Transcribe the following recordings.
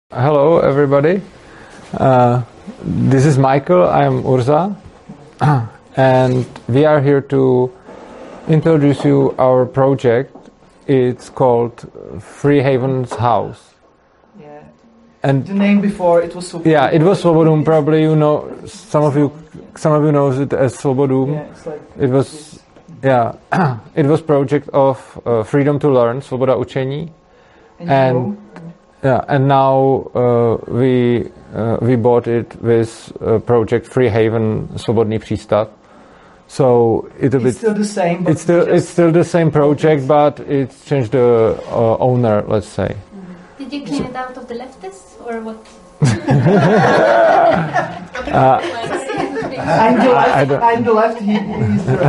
Hello, everybody. This is Michael. I'm Urza, and we are here to introduce you our project. It's called Free Haven's House. Yeah. And the name before it was Svobodum. Yeah, it was Svobodum. Probably you know some of you knows it as Svobodum. Yeah, it's like it was it was project of freedom to learn, Svoboda učení, and now we bought it with project Free Haven Svobodný přístav. So it's still the same. But it's still the same project, but it's changed the owner, let's say. Did you clean it out of the leftists or what? I'm the left. He's the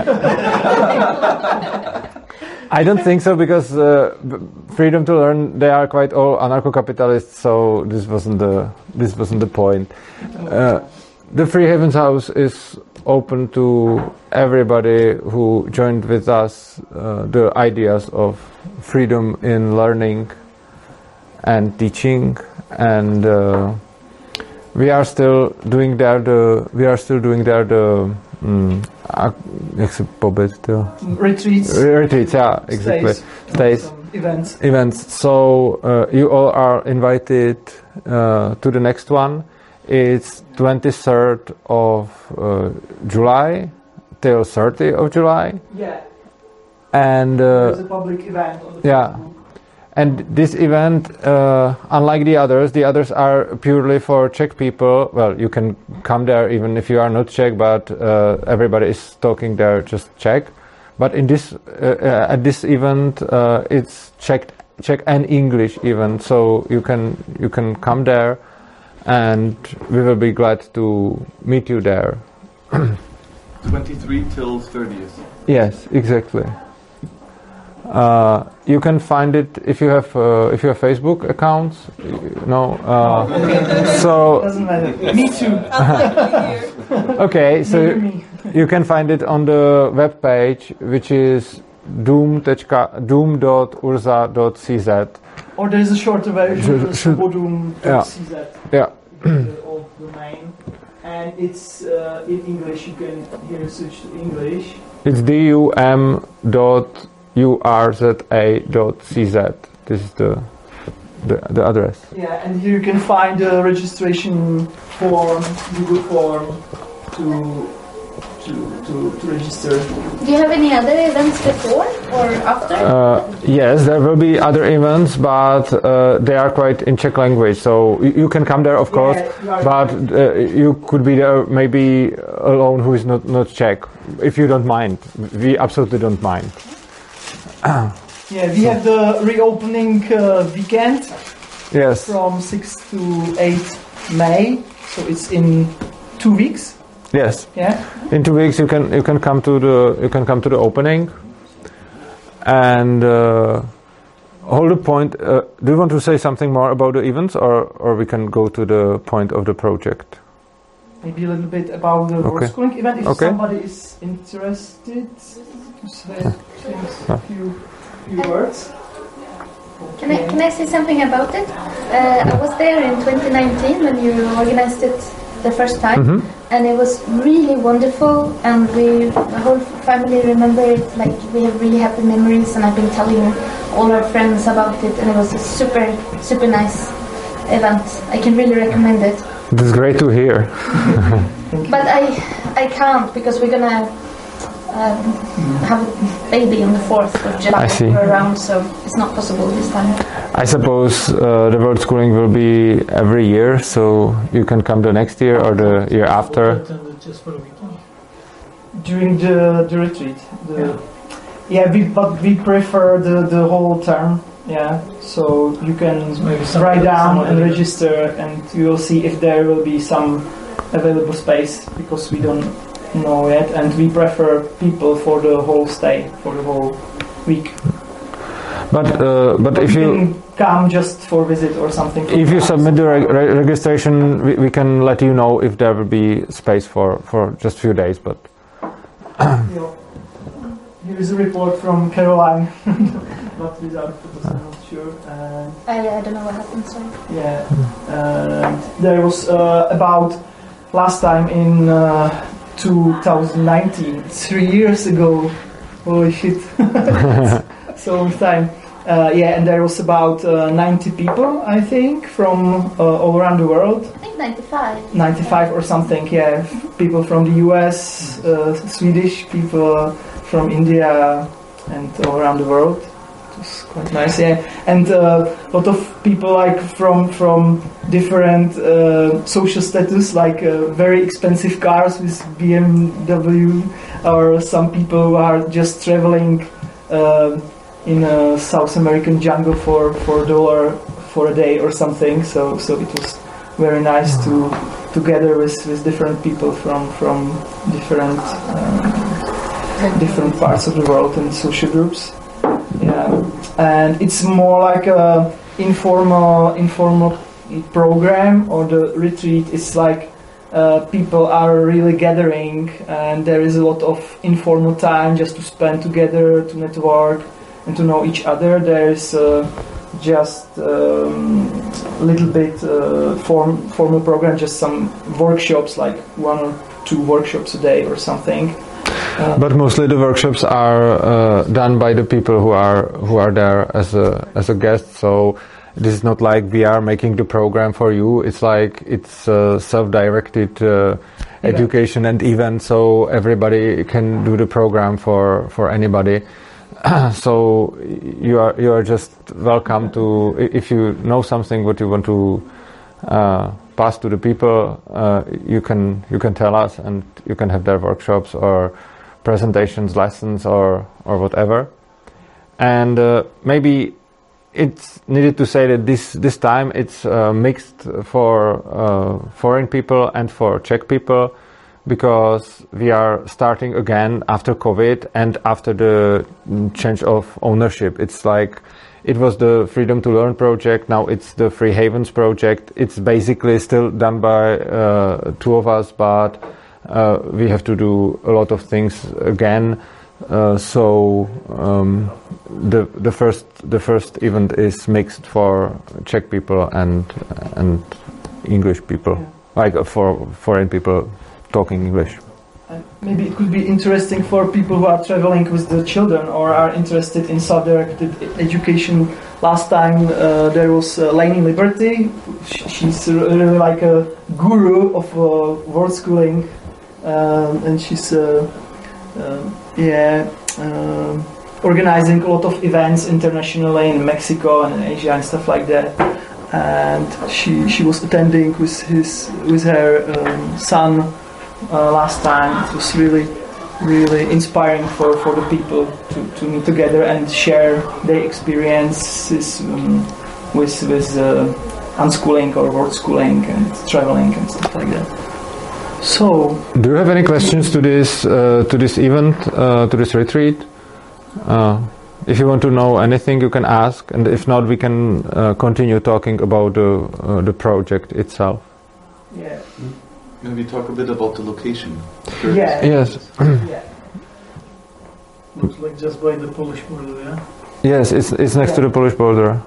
right. I don't think so, because freedom to learn, they are quite all anarcho-capitalists, so this wasn't the point. The Free Haven's House is open to everybody who joined with us the ideas of freedom in learning and teaching, and we are still doing there the retreats, yeah, exactly. Stays. Events. So you all are invited to the next one. It's 23rd of July till 30th of July. Yeah. And there's a public event on the Facebook. And this event, unlike the others are purely for Czech people. Well, you can come there even if you are not Czech, but everybody is talking there just Czech. But in this at this event, it's Czech and English even, so you can come there, and we will be glad to meet you there. 23 till 30th. Yes, exactly. You can find it if you have Facebook accounts. No. So. Doesn't matter. Me too. Okay, so you can find it on the web page, which is doom.urza.cz. Or there is a shorter version, svobodum.cz. Yeah. The old domain, and it's in English. You can here switch to English. It's dum.urza.cz. This is the address. Yeah, and here you can find the registration form, Google form to register. Do you have any other events before or after? Yes, there will be other events, but they are quite in Czech language, so you can come there, of course, but you could be there maybe alone who is not Czech, if you don't mind. We absolutely don't mind. Yeah, we have the reopening weekend. Yes. From 6 to 8 May, so it's in 2 weeks. Yes. Yeah. In 2 weeks you can come to the opening, and hold the point. Do you want to say something more about the events, or we can go to the point of the project? Maybe a little bit about the world schooling event, if somebody is interested. To say a few words. Okay. Can I say something about it? I was there in 2019 when you organized it the first time, and it was really wonderful, and the whole family remember it. Like, we have really happy memories, and I've been telling all our friends about it, and it was a super nice event. I can really recommend it. That's great to hear. But I can't, because we're gonna have a baby on the 4th of July. I see. Around, so it's not possible this time. I suppose the World Schooling will be every year, so you can come the next year or the year after. Just for a weekend. During the retreat. But we prefer the whole term. Yeah, so you can write down and register, and you will see if there will be some available space, because we don't know yet, and we prefer people for the whole stay, for the whole week. But if you come just for visit or something. If you submit the registration, we can let you know if there will be space for just few days. But here is a report from Caroline, not without photos. sure. I don't know what happened, sorry. Yeah, there was about last time in 2019, 3 years ago. Holy shit! So long time. Yeah, and there was about 90 people, I think, from all around the world. I think 95. 95 or something, yeah. People from the US, Swedish people from India, and all around the world. It was quite nice, yeah. And a lot of people like from different social status, like very expensive cars with BMW, or some people who are just traveling in a South American jungle for $1 for a day or something. So it was very nice to together with different people from different different parts of the world and social groups. Yeah, and it's more like a informal program, or the retreat is like people are really gathering, and there is a lot of informal time just to spend together, to network and to know each other. There is just a little bit formal program, just some workshops, like 1 or 2 workshops a day or something. But mostly the workshops are done by the people who are there as a guest. So this is not like we are making the program for you. It's like it's self-directed education and event, so everybody can do the program for anybody. So you are just welcome to, if you know something what you want to pass to the people, you can tell us, and you can have their workshops or presentations, lessons, or whatever. And maybe it's needed to say that this time it's mixed for foreign people and for Czech people, because we are starting again after COVID and after the change of ownership. It's like it was the Freedom to Learn project, now it's the Free Havens project. It's basically still done by 2 of us, but we have to do a lot of things again. So the first event is mixed for Czech people and English people, like for foreign people talking English. Maybe it could be interesting for people who are traveling with the children or are interested in self-directed education. Last time there was Lainey Liberty. She's really like a guru of world schooling, and she's organizing a lot of events internationally in Mexico and Asia and stuff like that. And she was attending with her son last time. It was really inspiring for the people to meet together and share their experiences with unschooling or world schooling and traveling and stuff like that. So, do you have any questions to this event, to this retreat? If you want to know anything, you can ask, and if not, we can continue talking about the project itself. Yeah. Maybe talk a bit about the location. Yeah. Yes. Yeah. Looks like just by the Polish border, yeah? Yes, it's next to the Polish border.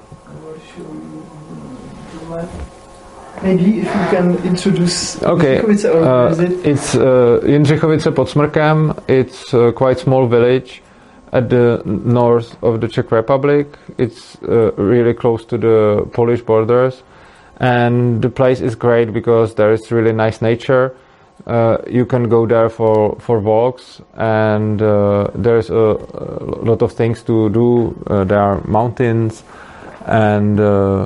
Maybe if you can introduce. Okay, Jindřichovice, or is it? it's Jindřichovice pod Smrkem. It's a quite small village at the north of the Czech Republic. It's really close to the Polish borders, and the place is great because there is really nice nature. You can go there for walks, and there's a lot of things to do. There are mountains, and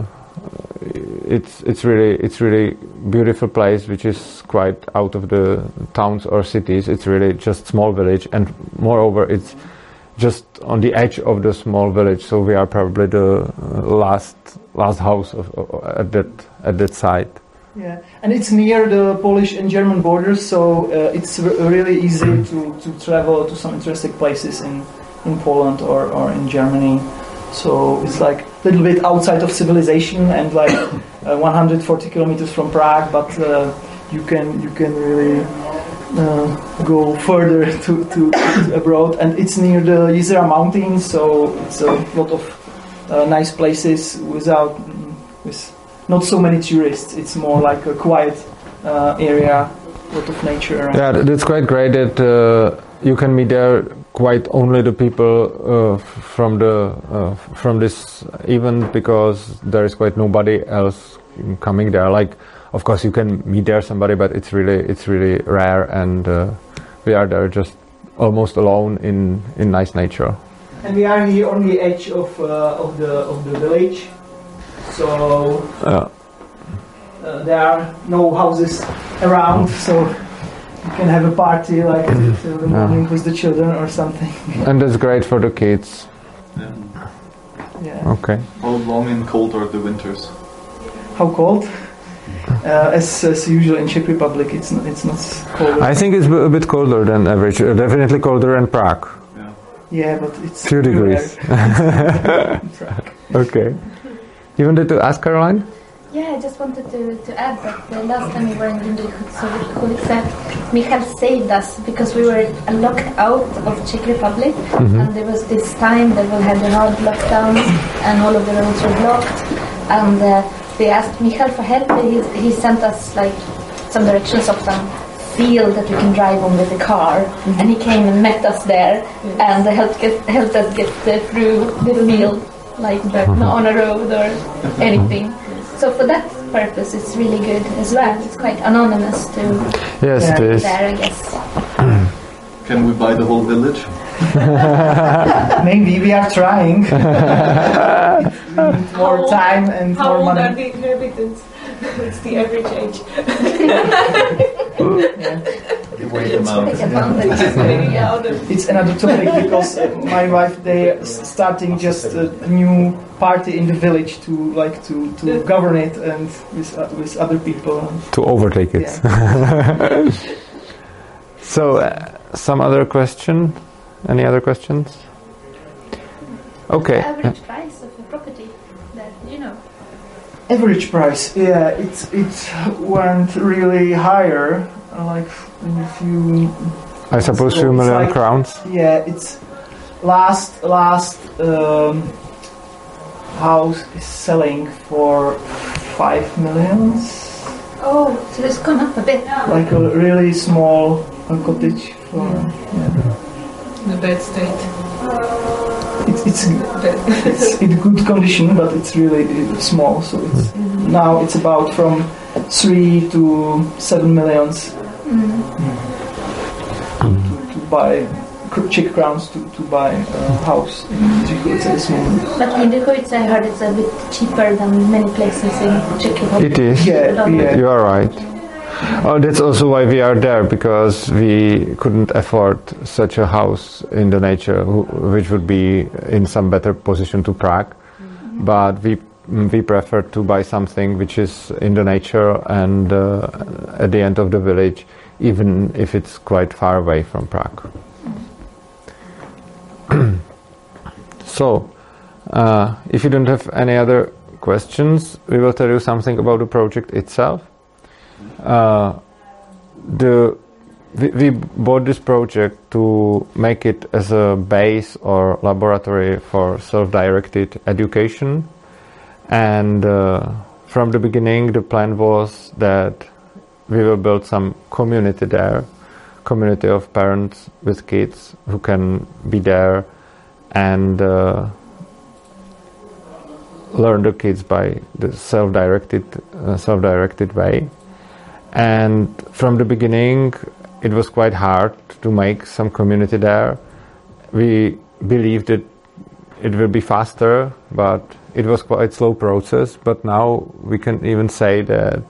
it's really beautiful place, which is quite out of the towns or cities. It's really just small village, and moreover it's just on the edge of the small village, so we are probably the last house at that site. Yeah, and it's near the Polish and German borders, so it's really easy to travel to some interesting places in Poland or in Germany. So it's like a little bit outside of civilization and like 140 kilometers from Prague, but you can really go further to abroad, and it's near the Jizera Mountains, so it's a lot of nice places with not so many tourists. It's more like a quiet area, a lot of nature around. Yeah, that's quite great that you can meet there quite only the people from this event, because there is quite nobody else coming there. Like, of course, you can meet there somebody, but it's really rare, and we are there just almost alone in nice nature. And we are here on the edge of the village, so there are no houses around, so you can have a party like till the morning with the children or something. And that's great for the kids. Yeah. Okay. How long and cold are the winters? How cold? As usual in Czech Republic, it's not cold. I think it's a bit colder than average. Definitely colder than Prague. Yeah, but it's few degrees. Okay. You wanted to ask Caroline? Yeah, I just wanted to add that the last time we were in Lindochůvice, Michal saved us because we were locked out of Czech Republic, and there was this time that we had the hard lockdowns and all of the roads were blocked, and we asked Michal for help. He sent us like some directions of some field that we can drive on with the car, and he came and met us there and helped us get through the field, like on a road or anything. So for that purpose, it's really good as well. It's quite anonymous to yes, it is. There, I guess. Can we buy the whole village? Maybe we are trying. We need more time and more money. How old are the inhabitants? It's the average age. It's another topic because my wife, they starting just a new party in the village to govern it and with other people to overtake it. Yeah. So some other question? Any other questions? Okay. The average price of a property that you know. Average price, yeah, it went really higher. Like if you, I suppose few million crowns. Yeah, it's last house is selling for 5 million. Oh, so it's gone up a bit. Like a really small cottage. In a bad state. It's in good condition, but it's really small. So now it's about from 3 to 7 millions to buy Czech crowns to buy a house in Lindochůvice at this moment. But in Lindochůvice, I heard it's a bit cheaper than many places in Czech Republic. It is. Yeah. You are right. Oh, that's also why we are there, because we couldn't afford such a house in the nature, which would be in some better position to Prague. But we prefer to buy something which is in the nature and at the end of the village, even if it's quite far away from Prague. So, if you don't have any other questions, we will tell you something about the project itself. We bought this project to make it as a base or laboratory for self-directed education, and from the beginning the plan was that we will build some community there, community of parents with kids who can be there and learn the kids by the self-directed way. And from the beginning, it was quite hard to make some community there. We believed that it will be faster, but it was quite a slow process. But now we can even say that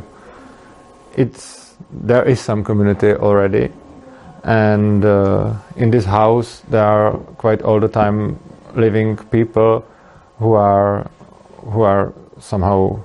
there is some community already. And in this house, there are quite all the time living people who are somehow.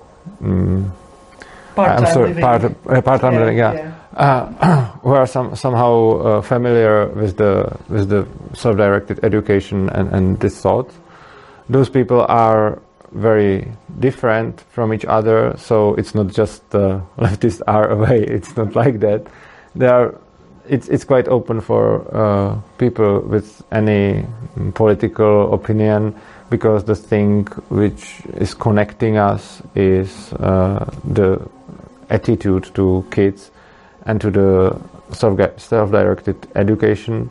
Part-time living, yeah. Who are somehow familiar with the self-directed education and this thought. Those people are very different from each other, so it's not just leftists are away. It's not like that. It's quite open for people with any political opinion, because the thing which is connecting us is the attitude to kids and to the self-directed education.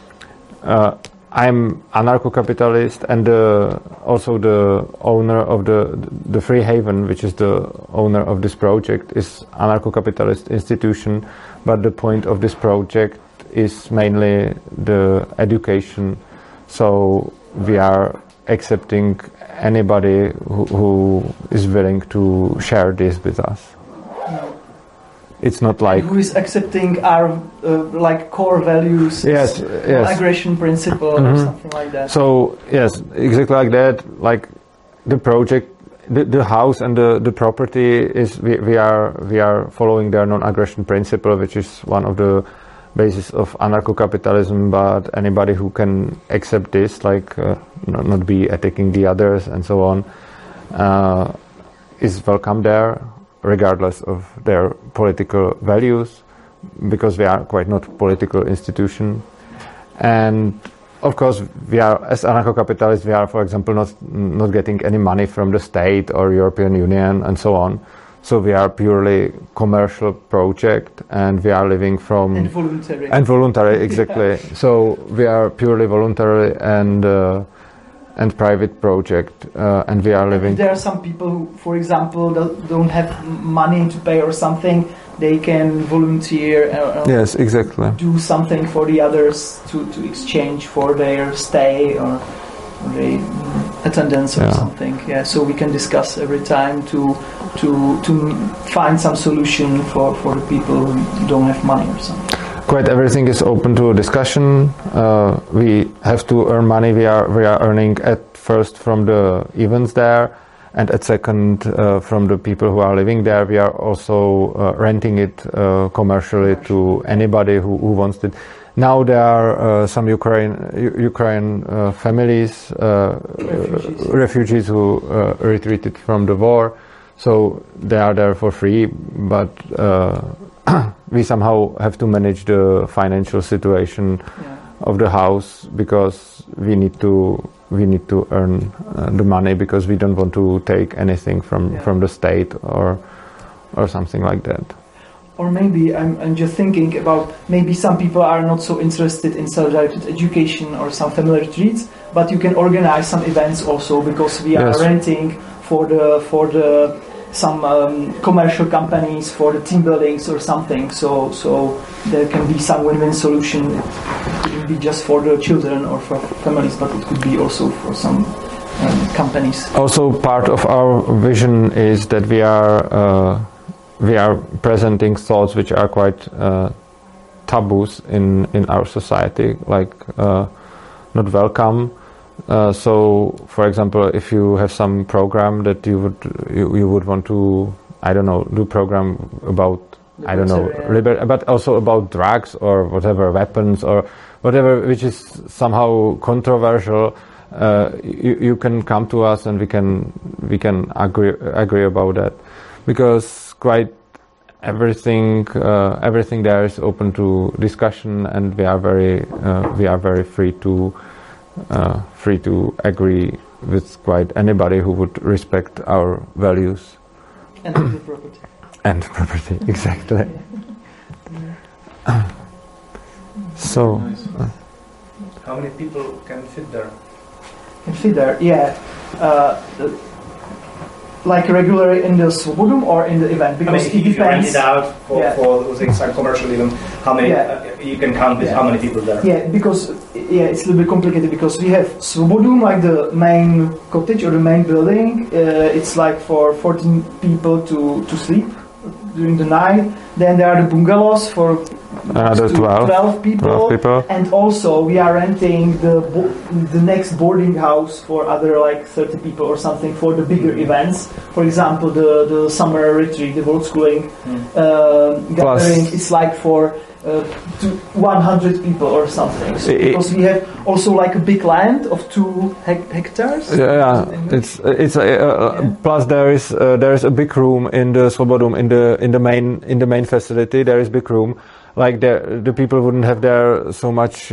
I'm anarcho-capitalist and also the owner of the Free Haven, which is the owner of this project, is anarcho-capitalist institution, but the point of this project is mainly the education. So we are accepting anybody who is willing to share this with us. It's not like who is accepting our like core values, yes. aggression principle or something like that. So yes, exactly like that. Like the project, the house and the property is we are following their non-aggression principle, which is one of the basis of anarcho-capitalism. But anybody who can accept this, like not be attacking the others and so on, is welcome there, regardless of their political values, because we are quite not political institution. And of course we are, as anarcho-capitalists, we are, for example, not getting any money from the state or European Union and so on. So we are purely commercial project, and we are living from and voluntary exactly. So we are purely voluntary and private project, and we are living. There are some people who, for example, don't have money to pay or something. They can volunteer. Yes, exactly. Do something for the others to exchange for their stay or their attendance or something. Yeah, so we can discuss every time to find some solution for the people who don't have money or something. Quite everything is open to discussion. We have to earn money. We are earning at first from the events there, and at second from the people who are living there. We are also renting it commercially to anybody who wants it. Now there are some Ukraine families, refugees who retreated from the war, so they are there for free, but we somehow have to manage the financial situation of the house, because we need to earn the money, because we don't want to take anything from the state or something like that. Or maybe I'm just thinking about, maybe some people are not so interested in self-directed education or some family retreats, but you can organize some events also, because we are renting for the some commercial companies for the team buildings or something. So there can be some win-win solution. It couldn't be just for the children or for families, but it could be also for some companies. Also, part of our vision is that we are presenting thoughts which are quite taboos in our society, like not welcome. So, for example, if you have some program that you would want to, I don't know, do program about, I don't know, but also about drugs or whatever, weapons or whatever, which is somehow controversial, you can come to us and we can agree about that, because quite everything there is open to discussion, and we are very free to agree with quite anybody who would respect our values. And the property. And property, exactly. So, how many people can fit there? Can fit there, yeah. Like regularly in the Svobodum or in the event, because it depends. If you rent it out for some commercial event, how many you can count with how many people there? Yeah, because it's a little bit complicated, because we have Svobodum, like the main cottage or the main building. It's like for 14 people to sleep during the night. Then there are the bungalows for 12 people. And also we are renting the next boarding house for other like 30 people or something for the bigger events. For example, the summer retreat, the world schooling gathering. It's like for to 100 people or something. So because we have also like a big land of 2 hectares. Yeah, it's plus there is a big room in the Slobodum in the main facility. There is big room. Like the people wouldn't have there so much.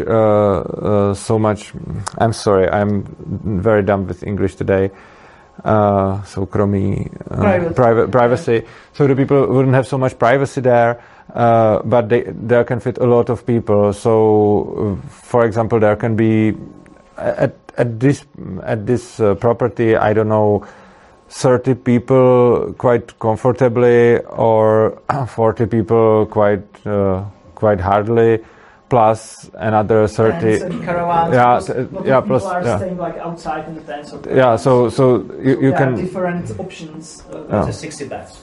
I'm sorry, I'm very dumb with English today. Soukromí, privacy. So the people wouldn't have so much privacy there, but there can fit a lot of people. So, for example, there can be at this property, I don't know, 30 people quite comfortably, or 40 people quite hardly, plus another 30 caravans. Plus people are staying like outside in the tents. So you can different options. 60 beds.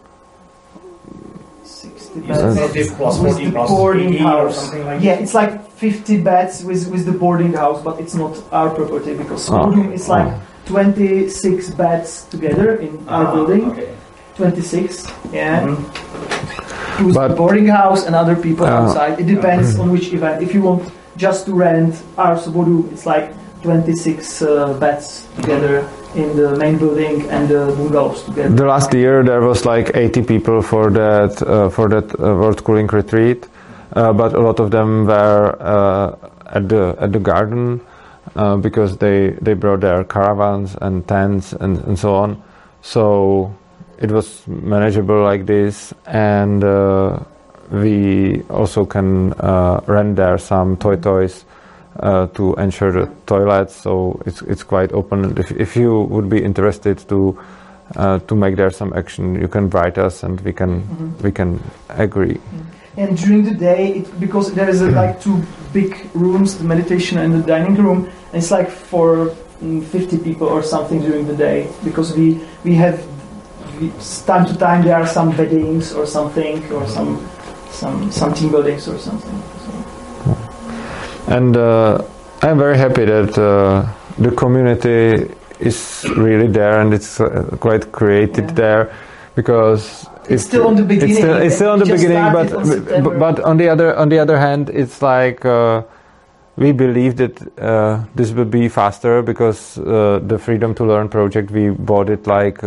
60 beds. Plus 40 plus boarding 80 house. or something like that. It's like 50 beds with the boarding house, but it's not our property because it's like 26 beds together in our building. Okay. 26, yeah. Mm-hmm. But boarding house and other people outside. It depends on which event. If you want just to rent our Svobodu, it's like 26 beds together in the main building and the bungalows together. The last year there was like 80 people for that World Cooling Retreat, but a lot of them were at the garden because they brought their caravans and tents and so on. So it was manageable like this, and we also can rent there some toys to ensure the toilets. So it's quite open. If you would be interested to make there some action, you can write us, and we can agree. And during the day, because there is like 2 big rooms, the meditation and the dining room, and it's like for 50 people or something during the day, because we have. Time to time there are some weddings or something, or some team buildings or something. So. And I'm very happy that the community is really there, and it's quite created there, because it's still on the beginning. It's still on the beginning, but on the other hand, it's like we believe that this will be faster, because the Freedom to Learn project, we bought it like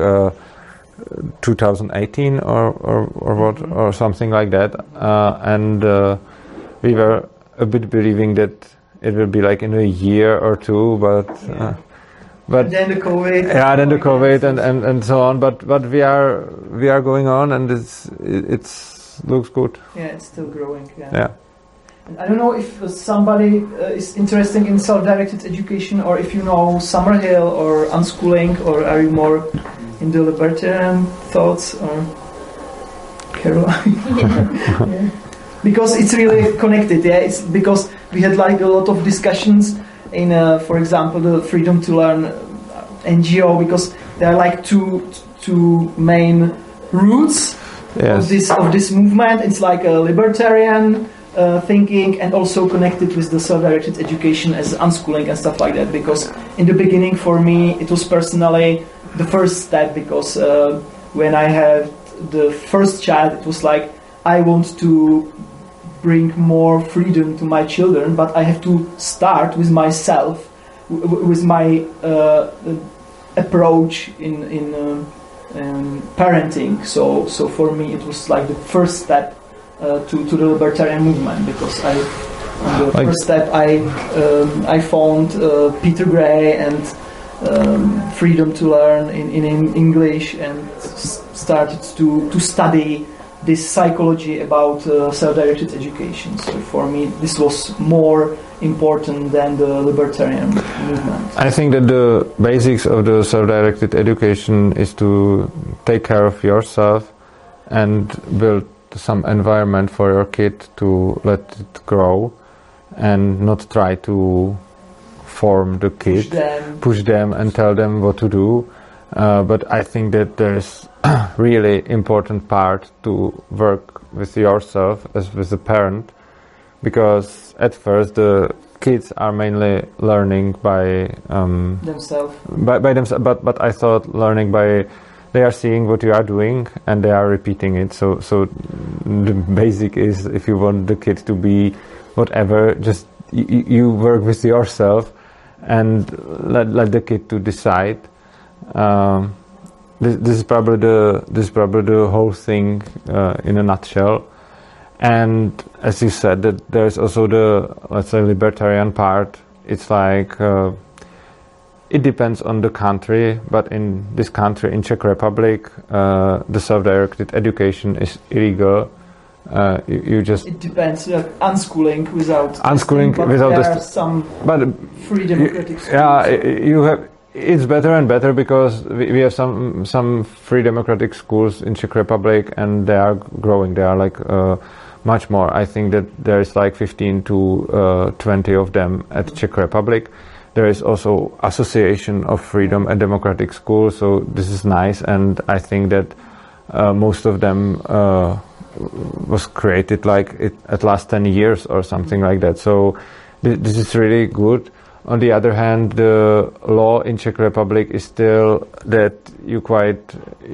2018 or what, or something like that, and we were a bit believing that it will be like in a year or 2, but then the COVID. Yeah, then the COVID and so on. But we are going on, and it's looks good. Yeah, it's still growing. Yeah. And I don't know if somebody is interested in self-directed education, or if you know Summerhill or unschooling, or are you more in the libertarian thoughts, or Caroline? Yeah. Because it's really connected. Yeah, it's because we had like a lot of discussions in, for example, the Freedom to Learn NGO, because there are like two main roots of this movement. It's like a libertarian thinking, and also connected with the self-directed education as unschooling and stuff like that. Because in the beginning, for me, it was personally the first step, because when I had the first child, it was like I want to bring more freedom to my children, but I have to start with myself, with my approach in parenting. So for me, it was like the first step to the libertarian movement, because first step I found Peter Gray and Freedom to Learn in English, and started to study this psychology about self-directed education. So for me, this was more important than the libertarian movement. I think that the basics of the self-directed education is to take care of yourself and build some environment for your kid to let it grow, and not try to form the kid, push them and tell them what to do. But I think that there's really important part to work with yourself as with a parent, because at first the kids are mainly learning by themselves. By themselves, but I thought learning by they are seeing what you are doing and they are repeating it. So the basic is if you want the kid to be whatever, just you work with yourself and let the kid to decide. This is probably the whole thing in a nutshell. And as you said, that there's also the, let's say, libertarian part. It's like it depends on the country, but in this country, in Czech Republic, the self-directed education is illegal. You just it depends. Unschooling without unschooling testing, without there are some free democratic schools. Yeah, you have. It's better and better because we have some free democratic schools in Czech Republic, and they are growing. They are like much more. I think that there is like 15 to 20 of them at Czech Republic. There is also Association of Freedom and Democratic Schools, so this is nice, and I think that most of them was created like at last 10 years or something like that. So this is really good. On the other hand, the law in Czech Republic is still that you quite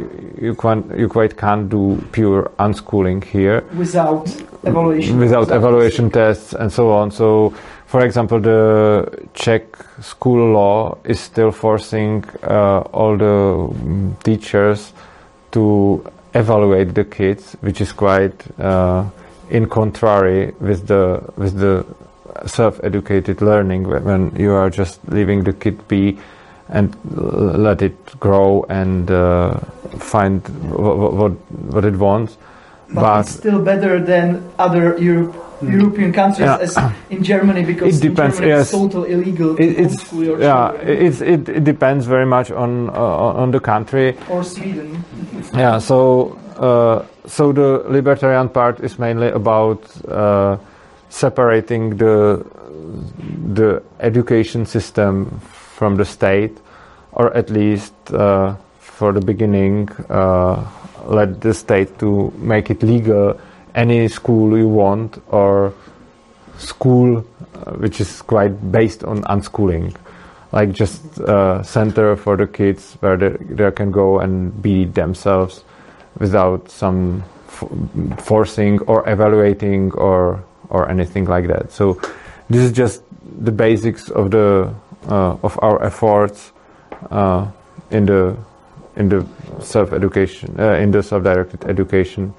can't do pure unschooling here without evaluation. Without evaluation tests and so on. So, for example, the Czech school law is still forcing all the teachers to evaluate the kids, which is quite in contrary with the self-educated learning, when you are just leaving the kid be and let it grow and find what it wants. But it's still better than other European countries, as in Germany, because it depends. In Germany it's totally illegal to homeschool your children. It depends very much on the country. Or Sweden. Yeah, so the libertarian part is mainly about separating the education system from the state, or at least for the beginning let the state to make it legal any school you want, or school which is quite based on unschooling, like just center for the kids where they can go and be themselves without some forcing or evaluating or anything like that. So this is just the basics of the of our efforts in the self-education, in the self-directed education.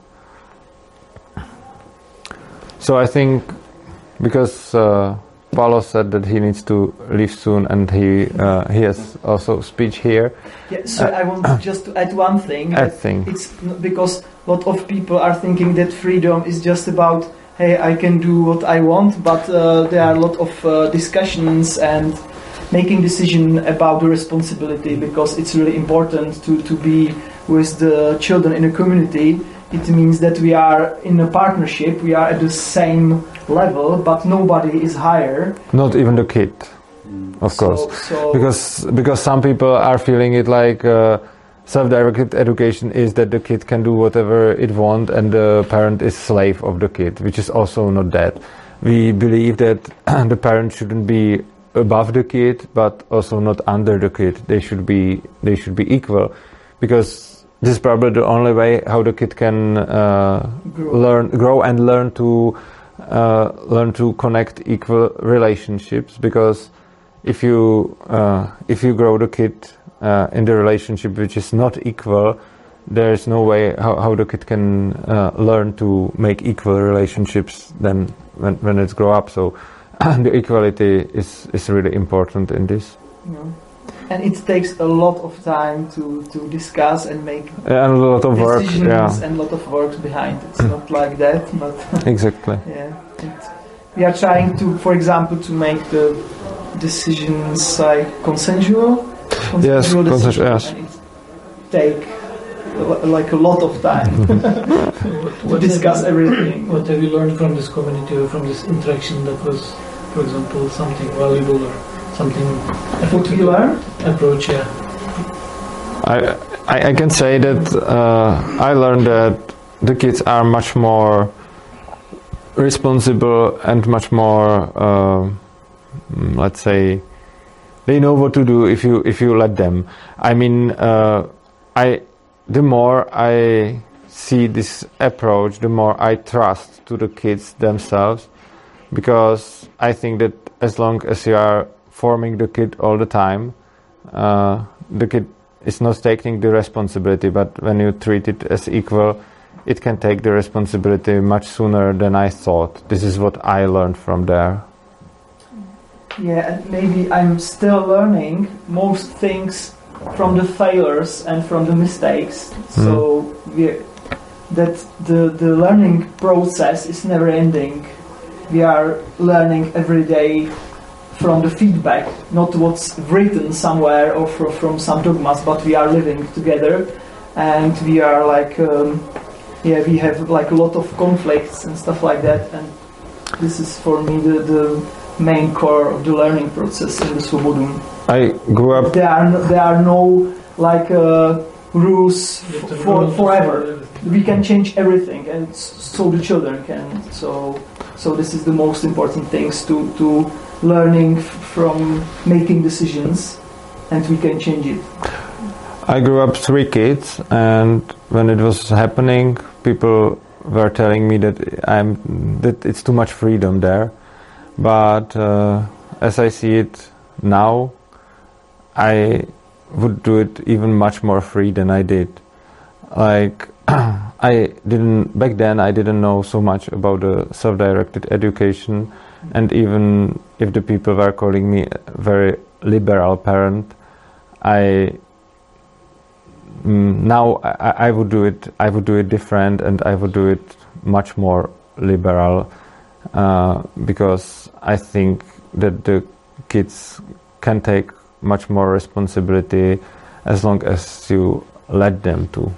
So I think because Paulo said that he needs to leave soon, and he has also speech here. Yeah, so I want just to add one thing. It's because a lot of people are thinking that freedom is just about, hey, I can do what I want, but there are a lot of discussions and making decision about the responsibility, because it's really important to be with the children in a community. It means that we are in a partnership, we are at the same level, but nobody is higher. Not even the kid, of course. Because some people are feeling it like self-directed education is that the kid can do whatever it wants and the parent is slave of the kid, which is also not that. We believe that the parent shouldn't be above the kid, but also not under the kid. They should be equal, because this is probably the only way how the kid can grow and learn to connect equal relationships. Because if you grow the kid in the relationship which is not equal, there is no way how the kid can learn to make equal relationships then when it's grow up. So the equality is really important in this. Yeah. And it takes a lot of time to discuss and make and a lot of work, and a lot of work behind. It's not like that, but exactly. Yeah, we are trying to, for example, to make the decisions like consensual. Yes, consensual. Yes. And it take like a lot of time to discuss everything. What have you learned from this community or from this interaction that was, for example, something valuable or something? What we learned? Approach, yeah. I can say that I learned that the kids are much more responsible and much more, let's say, they know what to do if you let them. I mean, the more I see this approach, the more I trust to the kids themselves, because I think that as long as you are forming the kid all the time, the kid is not taking the responsibility, but when you treat it as equal, it can take the responsibility much sooner than I thought. This is what I learned from there. Yeah, and maybe I'm still learning most things from the failures and from the mistakes. So that the learning process is never ending. We are learning every day from the feedback, not what's written somewhere or from some dogmas, but we are living together, and we are like, we have like a lot of conflicts and stuff like that, and this is for me the main core of the learning process in the Svobodum. I grew up. There are no like rules forever. We can change everything, and so the children can. So this is the most important things to learning from making decisions, and we can change it. I grew up 3 kids, and when it was happening, people were telling me that it's too much freedom there. But as I see it now, I would do it even much more free than I did. Like back then I didn't know so much about the self-directed education, and even if the people were calling me a very liberal parent, now I would do it different, and I would do it much more liberal, because I think that the kids can take much more responsibility as long as you let them to.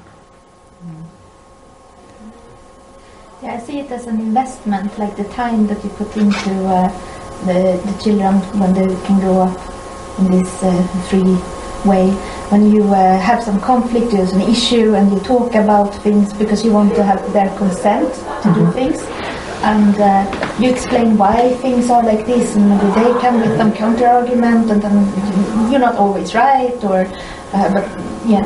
Yeah, I see it as an investment, like the time that you put into the children when they can grow up in this free way. When you have some conflict, there's an issue, and you talk about things because you want to have their consent to do things, and you explain why things are like this, and maybe they come with some counter argument, and then you're not always right, or but yeah,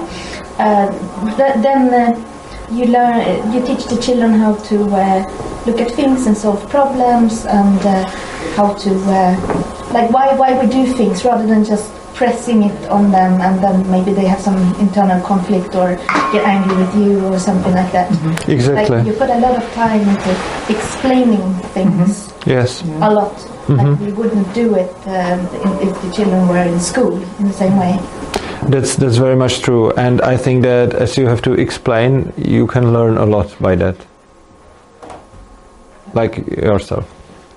then you teach the children how to look at things and solve problems, and how to like why we do things rather than just pressing it on them, and then maybe they have some internal conflict or get angry with you or something like that. Exactly. Like you put a lot of time into explaining things. Yes. A lot. Like we wouldn't do it if the children were in school in the same way. That's very much true, and I think that as you have to explain, you can learn a lot by that, like yourself.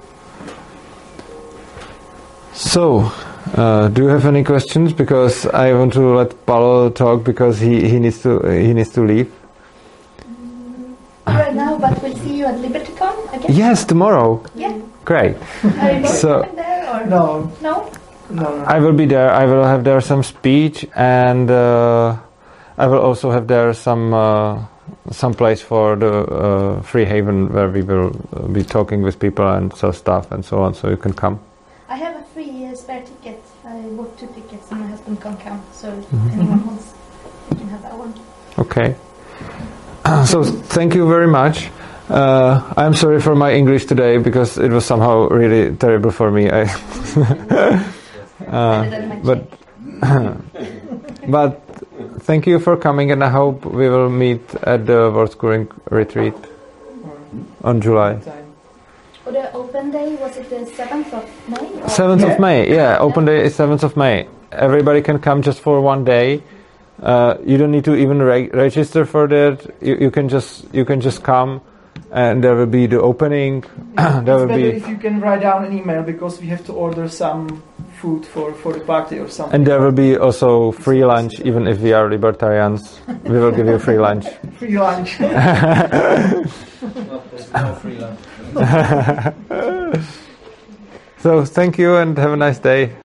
So, do you have any questions? Because I want to let Paolo talk, because he needs to leave. Right now, but we'll see you at LibertyCon again. Yes, tomorrow. Yeah. Great. Are you going there or No. No? No. I will be there. I will have there some speech, and I will also have there some place for the Free Haven, where we will be talking with people and sell stuff and so on. So you can come. I have a free spare ticket. I bought 2 tickets, and my husband can't come, so if anyone wants, you can have that one. Okay. So thank you very much. I'm sorry for my English today, because it was somehow really terrible for me. But thank you for coming, and I hope we will meet at the Worldschooling retreat on July. For the open day, was it the 7th of May? 7th of May, yeah. Open day is 7th of May. Everybody can come just for one day. You don't need to even register for that. You can just come, and there will be the opening. There will be. If you can write down an email, because we have to order some food for the party or something. And there will be also free lunch, even if we are libertarians. We will give you free lunch. Free lunch. No free lunch. So thank you, and have a nice day.